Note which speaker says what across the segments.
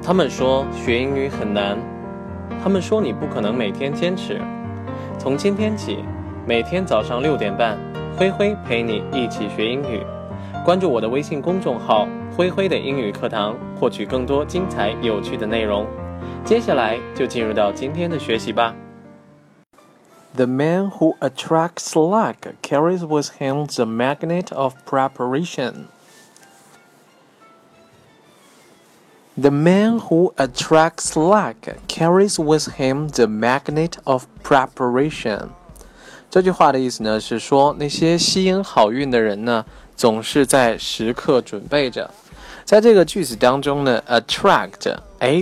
Speaker 1: 他们说学英语很难，他们说你不可能每天坚持。从今天起，每天早上6点半，灰灰陪你一起学英语。关注我的微信公众号“灰灰的英语课堂”，获取更多精彩有趣的内容。接下来就进入到今天的学习吧。The man who attracts luck carries with him the magnet of preparation.The man who attracts luck carries with him the magnet of preparation. 这句话的意思呢是说，那些吸引好运的人呢，总是在时刻准备着。在这个句子当中呢 ，attract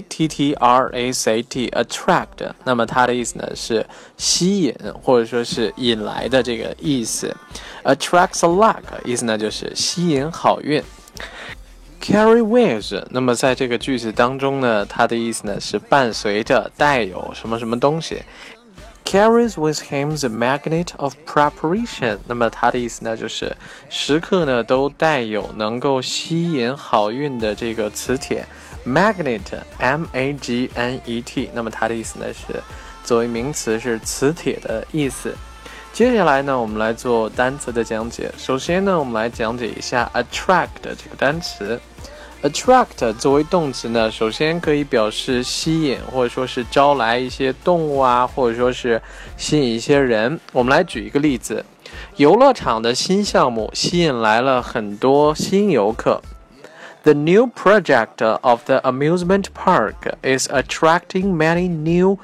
Speaker 1: attract， 那么它的意思呢是吸引或者说是引来的这个意思。attracts luck 意思呢就是吸引好运。Carry with， 那么在这个句子当中呢，它的意思呢是伴随着、带有什么什么东西。Carries with him the magnet of preparation， 那么它的意思呢就是时刻呢都带有能够吸引好运的这个磁铁。Magnet M-A-G-N-E-T， 那么它的意思呢是作为名词是磁铁的意思。接下来呢，我们来做单词的讲解。首先呢，我们来讲解一下 attract 这个单词。attract 作为动词呢，首先可以表示吸引，或者说是招来一些动物啊，或者说是吸引一些人。我们来举一个例子，游乐场的新项目吸引来了很多新游客。The new project of the amusement park is attracting many new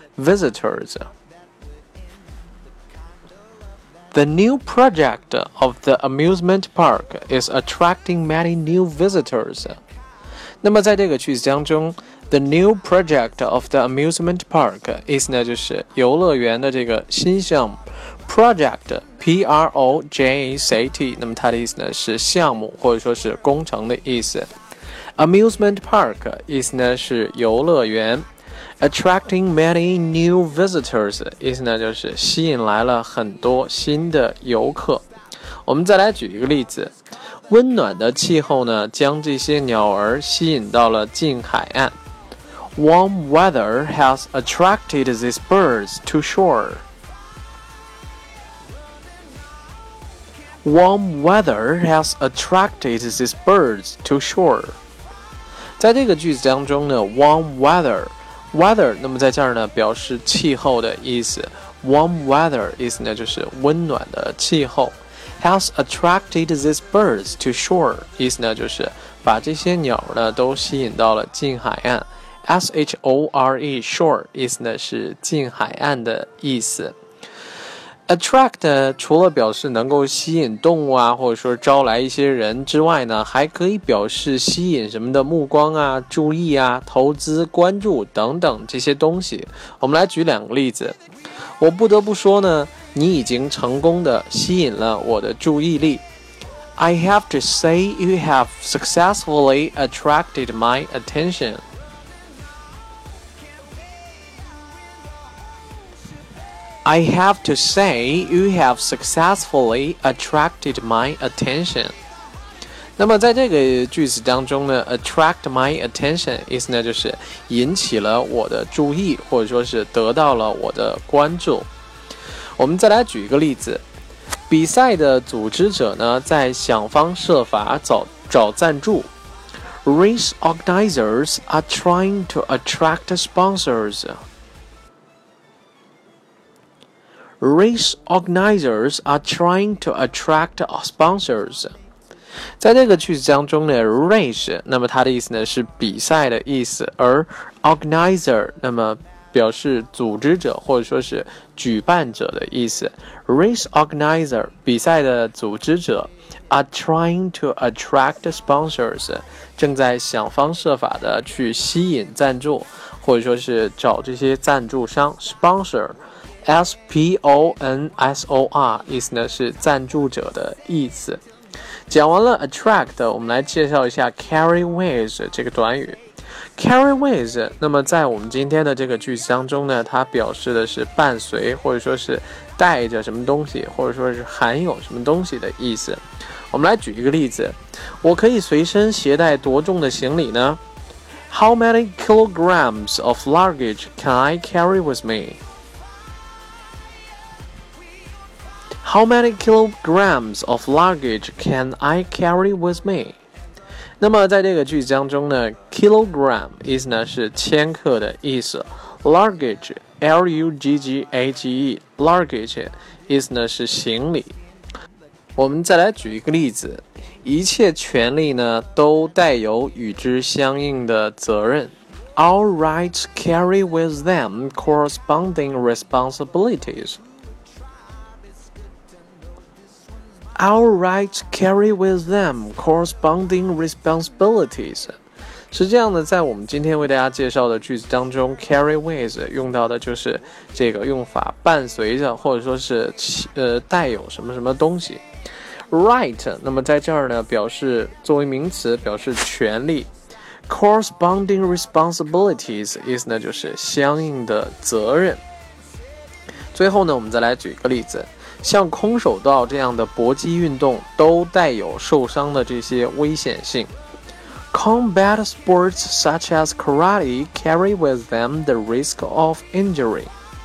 Speaker 1: visitors.The new project of the amusement park is attracting many new visitors. 那么在这个句子当中 ，the new project of the amusement park 意思呢就是游乐园的这个新项目 ，project P-R-O-J-E-C-T， 那么它的意思呢是项目或者说是工程的意思。amusement park 意思呢是游乐园。Attracting many new visitors 意思呢就是吸引来了很多新的游客。我们再来举一个例子，温暖的气候呢将这些鸟儿吸引到了近海岸。Warm weather has attracted these birds to shore. Warm weather has attracted these birds to shore. 在这个句子当中呢 ，warm weather， 那么在这儿呢表示气候的意思。Warm weather 意思呢就是温暖的气候。Has attracted these birds to shore 意思呢就是把这些鸟呢都吸引到了近海岸。S-H-O-R-E shore 意思呢是近海岸的意思。Attract 除了表示能够吸引动物啊，或者说招来一些人之外呢，还可以表示吸引什么的目光啊、注意啊、投资、关注等等这些东西。我们来举2个例子。我不得不说呢，你已经成功的吸引了我的注意力。I have to say you have successfully attracted my attention.I have to say you have successfully attracted my attention. 那么在这个句子当中呢 attract my attention 意思呢就是引起了我的注意，或者说是得到了我的关注。我们再来举一个例子，比赛的组织者呢在想方设法找赞助。Race organizers are trying to attract sponsors.Race organizers are trying to attract sponsors. 在这个句子当中呢 race 那么它的意思呢是比赛的意思，而 organizer 那么表示组织者或者说是举办者的意思。Race organizer 比赛的组织者 are trying to attract sponsors 正在想方设法的去吸引赞助，或者说是找这些赞助商 sponsor S-P-O-N-S-O-R 意思呢是赞助者的意思。讲完了 attract， 我们来介绍一下 carry with 这个短语。carry with 那么在我们今天的这个句子当中呢，它表示的是伴随或者说是带着什么东西，或者说是含有什么东西的意思。我们来举一个例子，我可以随身携带多重的行李呢？ How many kilograms of luggage can I carry with me? How many kilograms of luggage can I carry with me? 那么在这个句子当中呢 kilogram 意思呢是千克的意思， luggage L-U-G-G-A-G-E luggage 意思呢是行李。我们再来举一个例子，一切权利呢都带有与之相应的责任。All rights carry with them corresponding responsibilities. Our rights carry with them corresponding responsibilities. 实际上呢，在我们今天为大家介绍的句子当中 carry with 用到的就是这个用法，伴随着或者说是带有什么什么东西。Right 那么在这儿呢表示作为名词表示权利， corresponding responsibilities 意思呢就是相应的责任。最后呢我们再来举一个例子，像空手道这样的搏击运动都带有受伤的这些危险性。Combat sports such as karate carry with them the risk of injury.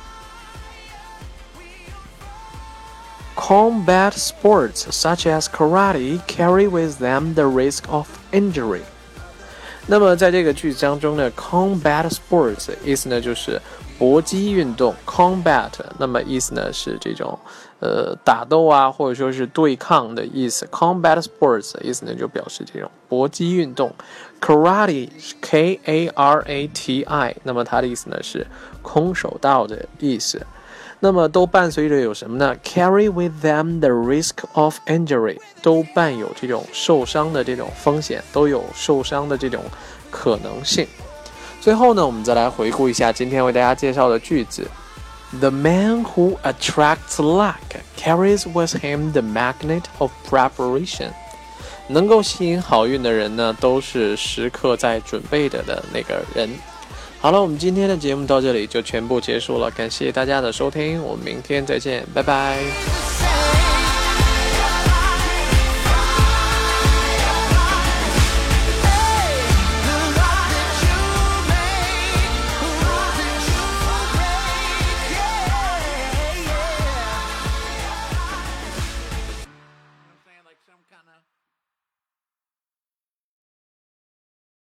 Speaker 1: Combat sports such as karate carry with them the risk of injury. 那么在这个句子当中呢 combat sports 意思呢就是搏击运动 combat 那么意思呢是这种打斗啊或者说是对抗的意思， combat sports 意思呢就表示这种搏击运动。 karate K-A-R-A-T-I 那么它的意思呢是空手道的意思。那么都伴随着有什么呢 carry with them the risk of injury 都伴有这种受伤的这种风险，都有受伤的这种可能性。最后呢我们再来回顾一下今天为大家介绍的句子。The man who attracts luck carries with him the magnet of preparation. 能够吸引好运的人呢都是时刻在准备的那个人。好了，我们今天的节目到这里就全部结束了，感谢大家的收听，我们明天再见，拜拜。